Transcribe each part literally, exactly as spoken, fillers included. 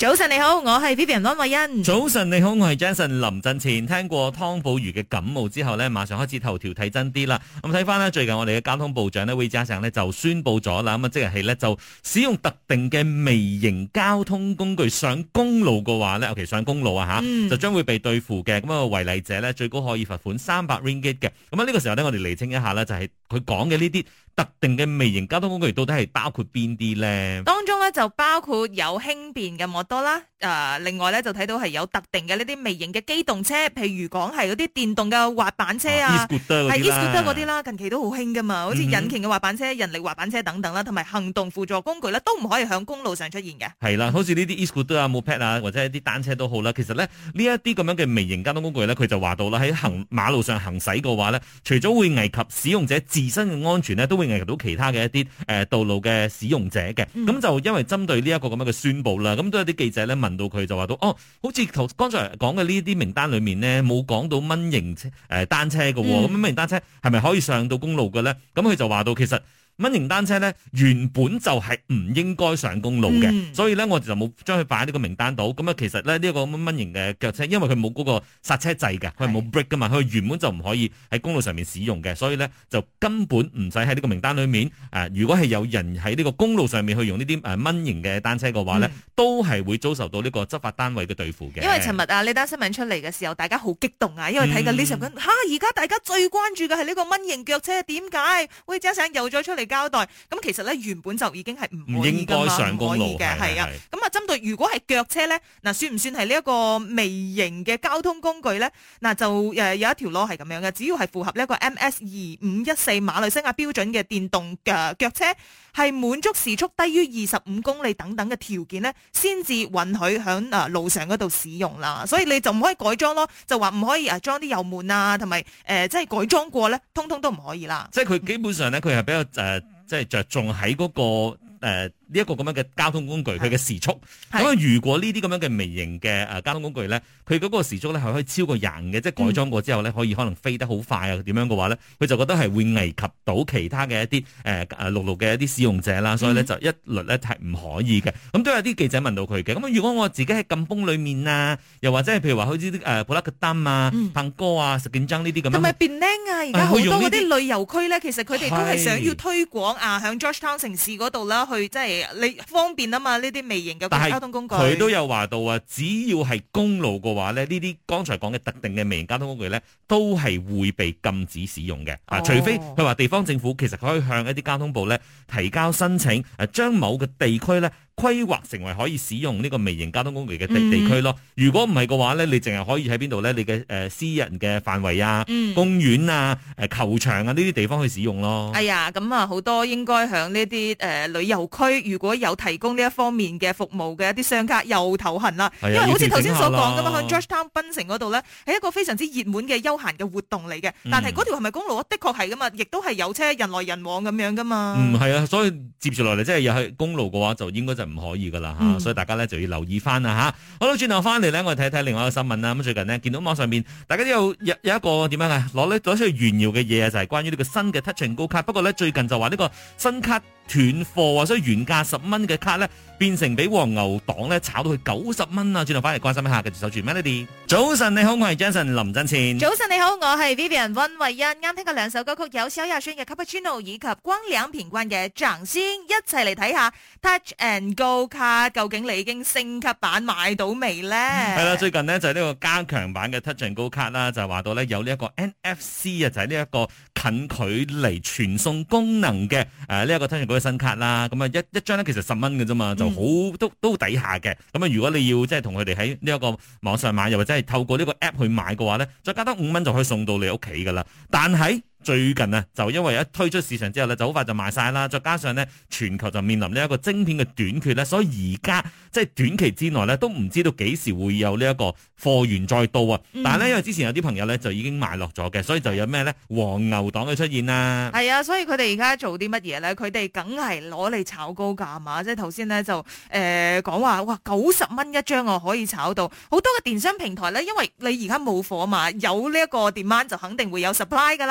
早晨你好，我係 Vivian 溫慧欣。 早晨你好，我係 Jason 林振前。聽過湯寶如嘅感冒之後呢，馬上開始頭條睇真啲啦。咁睇翻呢，最近我哋嘅交通部長呢，韋家祥呢就宣布咗啦，咁啊即日起呢，就使用特定嘅微型交通工具上公路嘅話呢，尤其上公路啊吓，嗯、就將會被對付嘅。咁啊違例者呢，最高可以罰款三百 ringgit 嘅。咁啊呢個時候呢，我哋厘清一下呢，就係佢講嘅呢啲特定嘅微型交通工具到底係包括邊啲呢？ 當中咧就包括有輕便嘅摩托啦，誒、呃，另外咧就睇到係有特定嘅呢啲微型嘅機動車，譬如講係嗰啲電動嘅滑板車啊，係 e-scooter 嗰啲啦，近期都好興噶嘛，好似引擎嘅滑板車、嗯、人力滑板車等等啦，同埋行動輔助工具咧都唔可以響公路上出現嘅。係啦，好似呢啲 e-scooter 啊、moped 啊，或者一啲單車都好啦。其實咧呢一啲咁樣嘅微型交通工具咧，佢就話到啦，喺行馬路上行駛嘅話咧，除咗會危及使用者自身嘅安全咧，都會危及到其他嘅一啲誒道路嘅使用者嘅。咁、嗯、就因為針對呢一個咁樣嘅宣佈啦，咁都有啲記者咧問到佢就話到，哦，好似頭剛才講嘅呢啲名單裏面呢，冇講到蚊型誒單車嘅，咁蚊型單車係咪可以上到公路嘅咧？咁佢就話到其實。蚊型單車咧原本就係唔應該上公路嘅，嗯、所以咧我哋就冇將佢擺喺呢個名單度。咁啊，其實咧呢一個蚊型嘅腳車，因為佢冇嗰個剎車掣嘅，佢係冇 brake 噶嘛，佢原本就唔可以喺公路上面使用嘅，所以咧就根本唔使喺呢個名單裏面。誒、呃，如果係有人喺呢個公路上面去用呢啲誒蚊型嘅單車嘅話咧，嗯、都係會遭受到呢個執法單位嘅對付嘅。因為尋日啊呢單新聞出嚟嘅時候，大家好激動啊，因為睇緊呢十個吓，而家大家最關注嘅係呢個蚊型腳車，點解？喂，加上又再出嚟交代，咁其實咧原本就已經係唔應該上公路嘅，係啊。咁啊，針對如果係腳車咧，嗱算唔算係呢一個微型嘅交通工具咧？嗱就誒有一條路係咁樣嘅，只要係符合呢一個 M S 二五一四馬來西亞標準嘅電動嘅腳車，係滿足時速低於二十五公里等等嘅條件咧，先至允許響誒路上嗰度使用啦。所以你就唔可以改裝咯，就話唔可以誒裝啲油門啊，同埋誒即係改裝過咧，通通都唔可以啦。即係佢基本上咧，佢係比較誒。呃即係着重喺嗰、那個誒呢一個咁樣嘅交通工具，佢嘅時速。咁啊，如果呢啲咁樣嘅微型嘅誒交通工具咧，佢嗰個時速咧係可以超過廿嘅，即係改裝過之後咧，可以可能飛得好快啊，點樣嘅話咧，佢就覺得係會危及到其他嘅一啲誒誒陸路嘅一啲使用者啦，所以咧就一律咧係唔可以嘅。咁都有啲記者問到佢嘅，咁如果我自己喺禁風裏面啊，又或者係譬如話好似啲誒布拉格丹啊、彭哥啊、石建爭呢啲咁樣，同埋便拎啊，而家好多嗰啲旅遊區咧，其實佢哋都係想要推廣啊，響 Georgetown 城市嗰度啦，去即係你方便啊嘛，呢啲微型嘅交通工具。佢都有話到啊，只要係公路嘅話咧，呢啲剛才講嘅特定嘅微型交通工具咧，都係會被禁止使用嘅。啊、哦，除非佢話地方政府其實佢可以向一啲交通部咧提交申請，誒將某個地區咧規劃成為可以使用呢個微型交通工具嘅地、嗯、地區咯。如果唔係嘅話咧，你淨係可以喺邊度咧？你嘅誒、呃、私人嘅範圍啊、嗯、公園啊、誒球場啊呢啲地方去使用咯。哎呀，咁啊好多應該響呢啲誒旅遊區，如果有提供呢一方面嘅服務嘅一啲商家又頭痕啦。因為好似頭先所講噶嘛，喺 Georgetown 檳城嗰度咧係一個非常之熱門嘅休閒嘅活動嚟嘅。但係嗰條係咪公路啊？的確係噶嘛，亦都係有車人來人往咁樣噶嘛。嗯，係啊，所以接住落嚟即係又係公路嘅話，就應該就唔可以噶啦吓。嗯、所以大家咧就要留意翻啦吓。好啦，轉頭翻嚟咧，我哋睇睇另外一個新聞啦。咁最近呢，見到網上面大家都有有有一個點樣啊，攞咧攞出去炫耀嘅嘢啊，就係、是、關於呢個新嘅 Touch 'n Go 卡。不過咧最近就話呢個新卡斷貨啊，所以原價十蚊嘅卡咧變成俾黃牛黨咧炒到去九十蚊啊！轉頭翻嚟關心一下，繼續守住 Melody。早晨你好，我係 Jason 林振前。早晨你好，我係 Vivian 溫慧欣。啱聽過兩首歌曲，有蕭亞軒嘅 Cappuccino 以及光良品冠嘅掌聲，一齊嚟睇下 Touch 'n Go 卡究竟你已經升級版買到未咧？係啦，最近呢，就係、是、呢個加強版嘅 Touch 'n Go 卡啦，就話到咧有呢一個 N F C 啊，就係呢一個近距離傳送功能嘅誒呢一個 Touch 'n Go 嘅新卡啦。咁啊一一張咧其實十蚊嘅啫嘛，就好、嗯、都都抵下嘅。咁啊如果你要即係同佢哋喺呢一個網上買，又或者係透過呢個 app 去買嘅話咧，再加多五蚊就可以送到你屋企噶啦。但係最近啊，就因為一推出市場之後咧，就好快就賣晒啦。再加上咧，全球就面臨呢一個晶片嘅短缺咧，所以而家即係短期之內咧，都唔知道幾時會有呢一個貨源再到啊。嗯、但係咧，因為之前有啲朋友咧就已經買落咗嘅，所以就有咩咧黃牛黨嘅出現啦。係啊，所以佢哋而家做啲乜嘢咧？佢哋梗係攞嚟炒高價嘛。即係頭先咧就誒講話哇九十蚊一張啊，可以炒到好多嘅電商平台咧，因為你而家冇貨嘛，有呢一個 demand 就肯定會有 supply 噶啦。嗯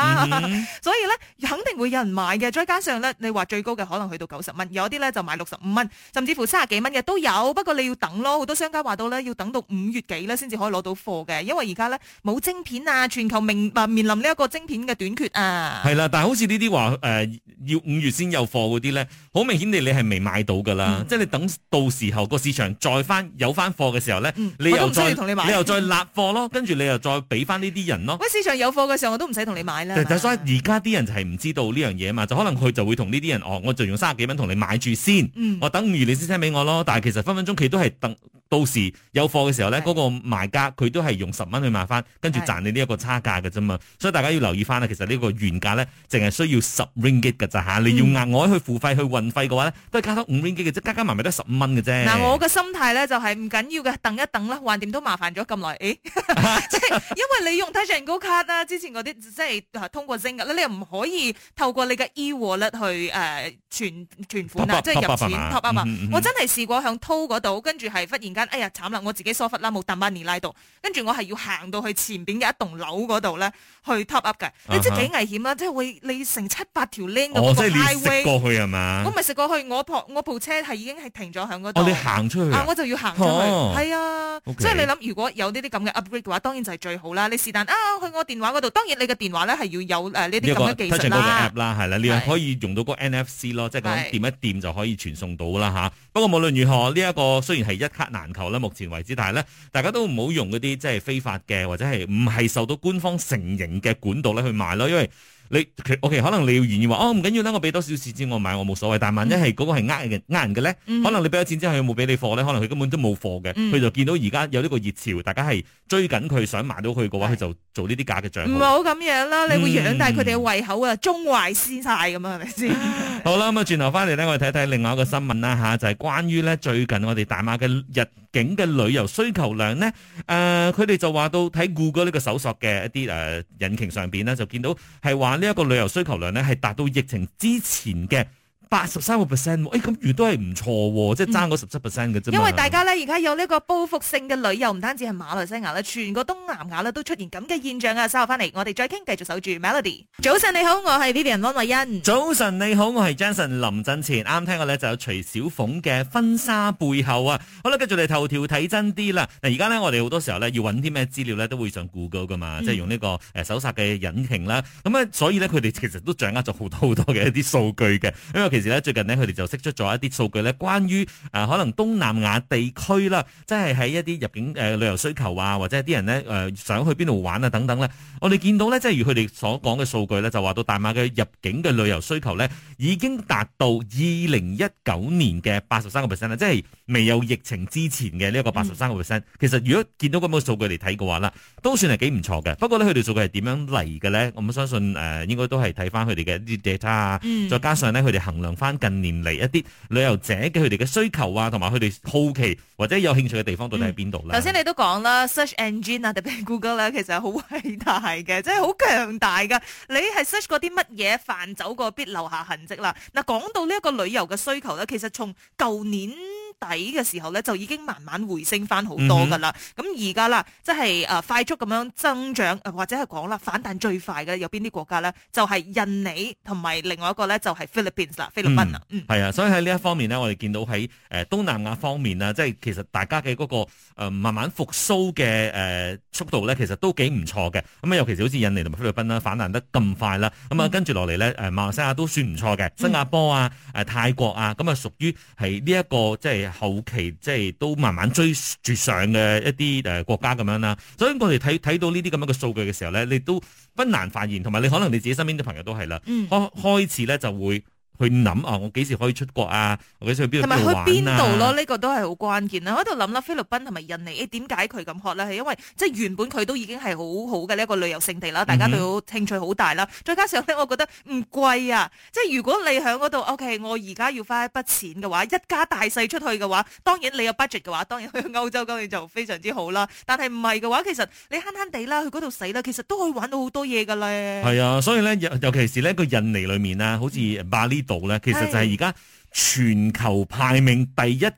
所以咧肯定會有人買嘅。再加上咧，你話最高嘅可能去到九十蚊，有啲咧就買六十五蚊，甚至乎三十幾蚊嘅都有。不過你要等咯，好多商家話到咧要等到五月幾咧先至可以攞到貨嘅，因為而家咧冇晶片啊，全球面啊面臨呢一個晶片嘅短缺啊。 係啦，但係好似呢啲話誒要五月先有貨嗰啲咧，好明顯地你係未買到噶啦，嗯、即係你等到時候個市場再翻有翻貨嘅時候咧，嗯、你又再你，你又再立貨咯，跟住你又再俾翻呢啲人咯。喂， 市場有貨嘅時候我都唔使同你買啦。 但係所以而家啲人就係唔知道呢樣嘢嘛，就可能佢就會同呢啲人哦，我就用三十幾蚊同你買住先，嗯、我等五月你先 send 俾我咯。但係其實分分鐘佢都係等到時有貨嘅時候咧，嗰、那個賣家佢都係用十蚊去賣翻，跟住賺你呢一個差價嘅啫嘛。所以大家要留意翻啦，其實呢個原價咧淨係需要十 ringgit 嘅咋吓，你要額外去付費去運費嘅話咧，都係加多五 ringgit 嘅啫，加加埋埋都十五蚊嘅啫。 嗱，我嘅心態咧就係唔緊要嘅，等一等啦，橫掂都麻煩咗咁耐，誒，即係因為你用 Touch 'n Go 卡啦，之前嗰啲即係通過 Zing 嘅，你又唔可以透過你嘅 e-wallet 去誒存存款啊，即係入錢 top up 啊。我真係試過響淘嗰度，跟住係忽然間，哎呀慘啦，我自己疏忽啦，冇抌翻尼拉度，跟住我係要行到去前邊嘅一棟樓嗰度咧去 top up 嘅，你知幾危險啦，即係會你成七八條 lane 哦，即係你食過去係嘛？ 我咪食過去，我部我部車係已經係停咗響嗰度。 哦，你行出去啊？我就要行出去，係啊。 Okay. 所以你諗，如果有呢啲咁嘅 upgrade 嘅話，當然就係最好啦。你是但啊，去我電話嗰度，當然你嘅電話咧係要有誒呢啲咁嘅技術啦。 app 啦，係啦，你又可以用到個 N F C 咯，即係咁掂一掂就可以傳送到啦吓。不過無論如何，呢、這、一個雖然係一卡難求啦，目前為止，但係咧，大家都唔好用嗰啲即係非法嘅或者係唔係受到官方承認嘅管道咧去賣咯，因為。你 OK 可能你要願意話哦唔緊要啦，我俾多少錢先我買我冇所謂，但係萬一係嗰個係呃人呃人嘅咧，嗯、可能你俾咗錢之後佢冇俾你貨咧，可能佢根本都冇貨嘅，佢、嗯、就見到而家有呢個熱潮，大家係追緊佢想買到佢嘅話，佢是就做呢啲假嘅賬號。唔好咁樣啦，你會養大佢哋嘅胃口啊，中壞先晒咁啊，係咪先？ 好啦，咁啊轉頭翻嚟咧，我哋睇睇另外一個新聞啦吓，就係、是、關於咧最近我哋大馬嘅日境嘅旅遊需求量咧，誒佢哋就話到睇 Google 呢個搜索嘅一啲誒、呃、引擎上邊咧，就見到係話呢一個旅遊需求量咧係達到疫情之前嘅八十三個 percent， 誒咁如都係唔錯，即係爭嗰十七 percent 嘅啫。因為大家咧而家有呢個報復性嘅旅遊，唔單止係馬來西亞啦，全個東南亞咧都出現咁嘅現象啊！稍後翻嚟，我哋再傾，繼續守住 Melody。早晨你好，我係 Vivian 安慧欣。 早晨你好，我係 Jason 林振前。啱聽過咧就有徐小鳳嘅婚紗背後啊。好啦，繼續嚟頭條睇真啲啦。嗱，而家咧我哋好多時候咧要揾啲咩資料咧都會上 Google 噶嘛，嗯、即係用呢個誒搜索嘅引擎啦。咁啊，所以咧佢哋其實都掌握咗好多好多嘅一啲數據嘅，因為其實咧最近呢，佢哋就釋出咗一啲數據咧，關於誒、呃、可能東南亞地區啦，即係喺一啲入境誒、呃、旅遊需求啊，或者係啲人咧誒、呃、想去邊度玩啊等等咧，我哋見到咧，即係如佢哋所講嘅數據咧，就話到大馬嘅入境嘅旅遊需求咧，已經達到二零一九年嘅八十三個 percent 啦，即係未有疫情之前嘅呢一個八十三個 percent。其實如果見到咁嘅數據嚟睇嘅話啦，都算係幾唔錯嘅。不過咧，佢哋數據係點樣嚟嘅咧？我相信誒、呃、應該都係睇翻佢哋嘅一啲 data 啊，嗯、再加上咧佢哋衡量翻近年嚟一啲旅遊者嘅佢哋嘅需求啊，同埋佢哋好奇或者有興趣嘅地方到底喺邊度咧？頭先、 嗯、你都講啦 ，search engine 啊，特別係 Google 咧，其實係好偉大嘅，即係好強大噶。你係 search 過啲乜嘢，犯走過必留下痕跡啦。嗱，講到呢一個旅遊嘅需求咧，其實從舊年底嘅時候咧，就已經慢慢回升翻好多噶啦。咁而家啦，即係誒快速咁樣增長，或者係講啦反彈最快嘅有邊啲國家咧？就係、是、印尼同埋另外一個咧就係 Philippines 啦，菲律賓啊。嗯，係、 嗯、啊，所以喺呢一方面呢，我哋見到喺誒東南亞方面啊，即係其實大家嘅嗰個誒慢慢復甦嘅誒速度咧，其實都幾唔錯嘅。咁啊，尤其是好似印尼同埋菲律賓啦，反彈得咁快啦。咁啊，跟住落嚟咧，誒馬來西亞都算唔錯嘅，新加坡啊、誒泰國啊，咁啊屬於係呢一個即係後期即係都慢慢追住上嘅一啲誒國家咁樣啦。所以我哋睇睇到呢啲咁樣嘅數據嘅時候咧，你都不難發現，同埋你可能你自己身邊啲朋友都係啦，開開始咧就會。去諗啊！我幾時可以出國啊？我幾時去邊度玩啊？ 同埋去邊度咯？呢、這個都係好關鍵啦！我喺度諗啦，菲律賓同埋印尼，誒點解佢咁 hot 咧？係因為即係原本佢都已經係好好嘅呢一個旅遊勝地啦，大家對佢興趣好大啦。嗯、哼再加上咧，我覺得唔貴啊！即係如果你喺嗰度，OK，我而家要花一筆錢嘅話，一家大細出去嘅話，當然你有 budget 嘅話，當然去歐洲當然就非常之好啦。但係唔係嘅話，其實你慳慳地啦，去嗰度使啦，其實都可以玩到好多嘢噶咧。係啊，所以咧，尤其是呢個印尼裏面啊，好似巴厘島咧，其實就係而家全球排名第一嘅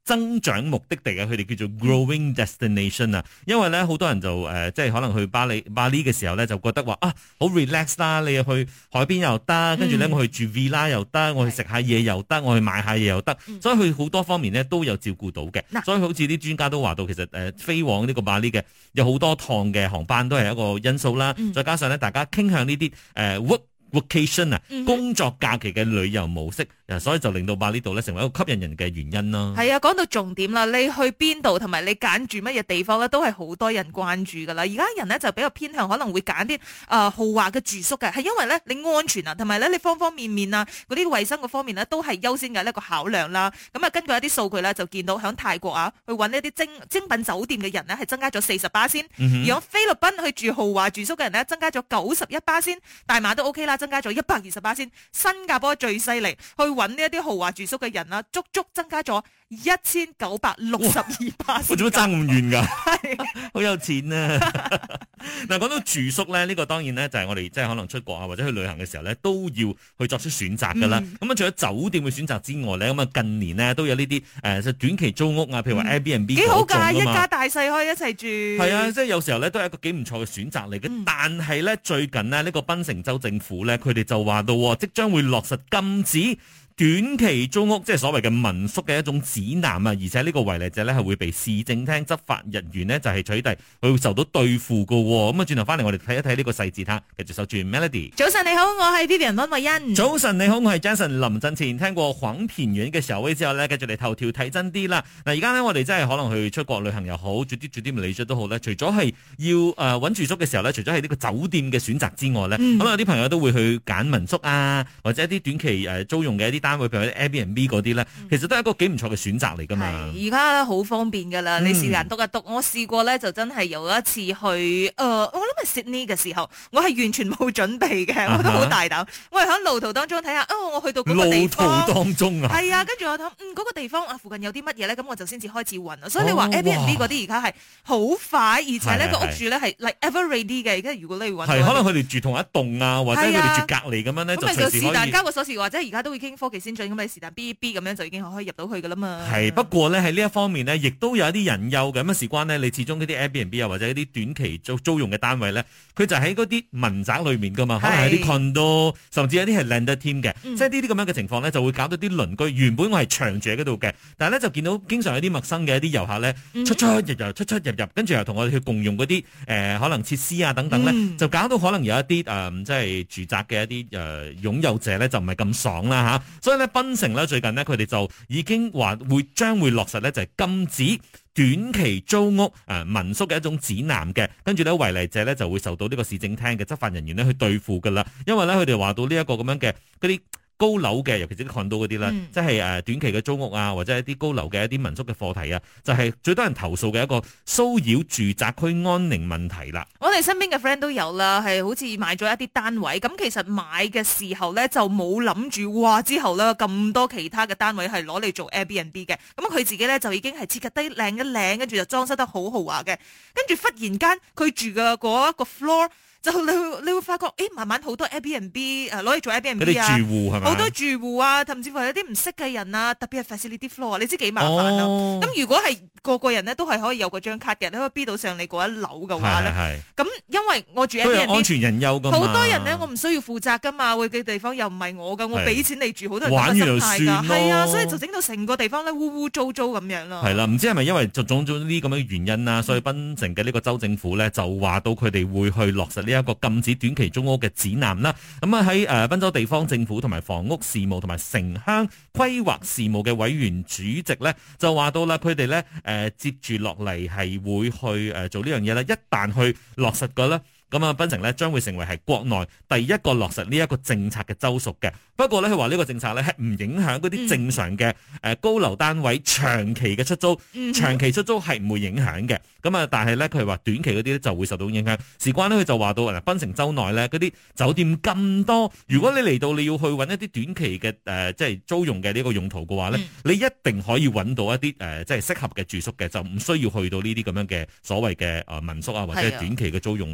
增長目的地嘅，佢哋叫做 growing destination 啊。因為咧好多人就誒、呃，即係可能去巴黎巴黎嘅時候咧，就覺得話啊好 relax 啦，你去海邊又得，跟住咧我去住 villa 又得，我去食下嘢又得，我去買下嘢又得，嗯、所以佢好多方面咧都有照顧到嘅。嗯、所以好似啲專家都話到，其實誒、呃、飛往呢個巴黎嘅有好多趟嘅航班都係一個因素啦。嗯、再加上咧，大家傾向呢啲誒 work vacation 啊，工作假期嘅旅遊模式，所以就令到巴厘島咧成為一個吸引人嘅原因咯。係啊，講到重點啦，你去邊度同埋你揀住乜嘢地方咧，都係好多人關注噶啦。而家人咧就比較偏向可能會揀啲誒豪華嘅住宿嘅，係因為咧你安全啊，同埋咧你方方面面啊，嗰啲衛生嗰方面咧都係優先嘅一個考量啦。咁啊，根據一啲數據咧就見到響泰國啊，去揾一啲精精品酒店嘅人咧係增加咗四十巴仙，而響菲律賓去住豪華住宿嘅人咧增加咗九十一巴仙，大馬都 OK 啦，增加咗一百二十巴仙，新加坡最犀利，去揾呢一啲豪華住宿嘅人啦，足足增加咗一千九百六十二巴仙。 我做乜爭咁遠㗎？係，好有錢啊！嗱，講到住宿咧，呢、這個當然咧就係我哋即係可能出國啊或者去旅行嘅時候咧，都要去作出選擇㗎啦。咁啊、嗯，除咗酒店嘅選擇之外咧，咁啊近年呢都有呢啲誒短期租屋啊，譬如話 Airbnb 幾、嗯、好㗎，一家大細可以一齊住。 係啊，即係有時候咧都係一個幾唔錯嘅選擇嚟嘅。嗯、但係咧最近呢，呢、這個檳城州政府咧，佢哋就話到即將會落實禁止短期租屋，即係所謂嘅民宿嘅一種指南啊，而且呢個違例者咧係會被市政廳執法人員呢就係取締，佢會受到對付噶。咁啊，轉頭翻嚟我哋睇一睇呢個細節吓，繼續守住 Melody。 早晨你好，我係 Vivian 溫慧欣。 早晨你好，我係 Jason 林振前。聽過黃片院嘅時候之後呢，繼續嚟頭條睇真啲啦。嗱，而家呢，我哋真係可能去出國旅行又好，住啲住啲唔理出都好咧。除咗係要誒揾住宿嘅時候咧，除咗係呢個酒店嘅選擇之外咧，咁、嗯、有啲朋友都會去揀民宿啊，或者一啲短期誒租用嘅一啲單位，譬如啲 Airbnb 嗰啲咧，其實都係一個幾唔錯嘅選擇嚟噶嘛。而家好方便噶啦，你試下篤一篤。我試過咧，就真係有一次去誒、呃，我諗係 Sydney 嘅時候，我係完全冇準備嘅，我都好大膽。Uh huh. 我係喺路途當中睇下，哦，我去到嗰個地方， 路途當中啊， 係啊，跟住我諗，嗯，嗰、嗰個地方啊，附近有啲乜嘢咧，咁我就先至開始揾啊。所以你話 Airbnb 嗰啲而家係好快，而且呢個屋住咧係 like ever ready 嘅。而家如果你揾， 係可能佢哋住同一棟啊，或者佢哋住隔離咁樣咧， 咁咪就是但交個鎖匙，或者而家都會傾科技先進，咁你是但 B B 咁樣就已經可以入到去噶啦嘛。 係，不過咧喺呢一方面呢，亦都有一啲隱憂嘅。咁啊，事關呢，你始終嗰啲 Airbnb 啊，或者一啲短期租租用嘅單位咧，佢就喺嗰啲民宅裏面噶嘛，可能係啲 condo，甚至有啲係 landed team 嘅，嗯、即係呢啲咁樣嘅情況咧，就會搞到啲鄰居原本我係長住喺嗰度嘅，但係咧就見到經常有啲陌生嘅一啲遊客咧，出出入入出出入入，跟住又同我哋去共用嗰啲誒可能設施啊等等咧，嗯、就搞到可能有一啲誒、呃、即係住宅嘅一啲誒擁有者咧就唔係咁爽啦吓，所以咧檳城咧最近呢，佢哋就已經話會將會落實咧就係禁止短期租屋誒、呃、民宿嘅一種指南嘅，跟住咧違例者咧就會受到呢個市政廳嘅執法人員咧去對付噶啦，因為咧佢哋話到呢一個咁樣嘅嗰啲高樓嘅，尤其是啲 condo 嗰啲啦，嗯、即係誒短期嘅租屋啊，或者一啲高樓嘅一啲民宿嘅課題啊，就係、是、最多人投訴嘅一個騷擾住宅區安寧問題啦。 我哋身邊嘅 friend 都有啦，係好似買咗一啲單位，咁其實買嘅時候咧就冇諗住，哇之後咧咁多其他嘅單位係攞嚟做 Airbnb 嘅，咁佢自己咧就已經係設計得靚一靚，跟住就裝修得好豪華嘅，跟住忽然間佢住嘅嗰一個 floor。就你會你會發覺，誒慢慢好多 Airbnb 誒攞嚟做 Airbnb 啊， 住戶係咪？ 好多住戶啊，甚至乎有啲唔識嘅人啊，特別係 facility floor，你知幾麻煩啊？咁、哦、如果係個個人咧都係可以有嗰張卡嘅，你可以 B 到上你嗰一樓嘅話咧，咁因為我住 Airbnb 安全隱憂㗎嘛， 好多人咧我唔需要負責㗎嘛，會嘅地方又唔係我㗎，我俾錢你住，好多人咁嘅心態㗎，係啊，所以就整到成個地方咧污污糟糟咁樣咯。係啦，唔知係咪因為就種種呢啲咁嘅原因啊，所以檳城嘅呢個州政府咧就話到佢哋會去落實呢一個禁止短期租屋嘅指南啦，咁啊喺誒賓州地方政府同埋房屋事務同埋城鄉規劃事務嘅委員主席咧就話到啦，佢哋咧誒接住落嚟係會去誒做呢樣嘢啦，一旦去落實嘅咧。咁啊，檳城咧將會成為係國內第一個落實呢一個政策嘅州屬嘅。不過咧，佢話呢個政策咧係唔影響嗰啲正常嘅誒高樓單位長期嘅出租，嗯、長期出租係唔會影響嘅。咁啊，但係咧佢話短期嗰啲咧就會受到影響。事關咧佢就話到嗱，檳城州內咧嗰啲酒店咁多，如果你嚟到你要去揾一啲短期嘅誒、呃、即係租用嘅呢個用途嘅話咧，嗯、你一定可以揾到一啲誒、呃、即係適合嘅住宿嘅，就唔需要去到呢啲咁樣嘅所謂嘅誒民宿啊或者係短期嘅租用嘅。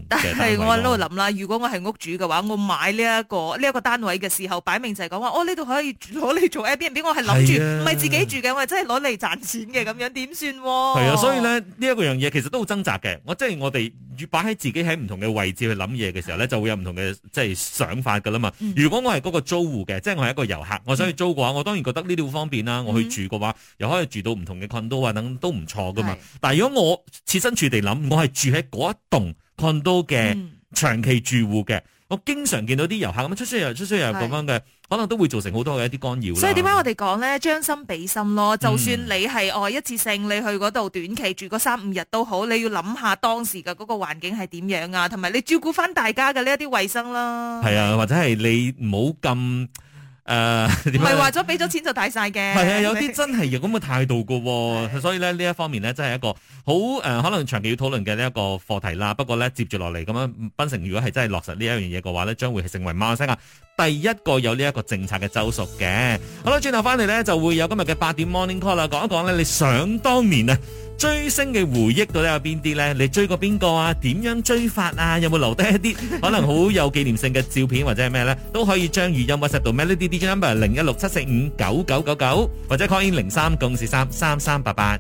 為我喺度諗啦，如果我係屋主嘅話，我買呢、這、一個呢一、這個單位嘅時候，擺明就係講話，哦呢度可以攞嚟做 Airbnb， 我係諗住唔係自己住嘅，我係真係攞嚟賺錢嘅，咁樣點算？ 係啊，所以咧呢一、這個樣嘢其實都好掙扎嘅。我即係我哋越擺喺自己喺唔同嘅位置去諗嘢嘅時候咧，就會有唔同嘅即係想法噶啦嘛。嗯、如果我係嗰個租戶嘅，即係我係一個遊客，我想去租嘅話，我當然覺得呢啲好方便啦。我去住嘅話，嗯、又可以住到唔同嘅 condo 啊，等都唔錯噶嘛。是但係如果我設身處地諗，我係住喺嗰一棟 condo 嘅長期住戶嘅，嗯、我經常見到啲遊客咁樣出出入出出入咁樣嘅，可能都會造成好多嘅一啲干擾。 所以點解我哋講咧，將心比心咯。就算你係哦一次性你去嗰度短期住嗰三五日都好，你要諗下當時嘅嗰個環境係點樣啊，同埋你照顧翻大家嘅呢一啲衛生啦。係啊，或者係你唔好咁。誒， 唔係話咗俾咗錢就大晒嘅， 係啊，有啲真係有咁嘅態度噶，所以咧呢一方面咧真係一個好誒、呃，可能長期要討論嘅呢一個課題啦。不過咧接住落嚟咁樣，檳城如果係真係落實呢一樣嘢嘅話咧，將會係成為馬來西亞第一個有呢一個政策嘅州屬嘅。好啦，轉頭翻嚟咧就會有今日嘅八點 Morning Call 啦，講一講咧你想當年啊追星嘅回憶到底有邊啲咧？你追過邊個啊？點樣追法啊？有冇留低一啲可能好有紀念性嘅照片或者係咩咧？都可以將語音 WhatsApp 到 Melody D J number 零一六七四五九九九九或者 call in 零三九四三三三八八。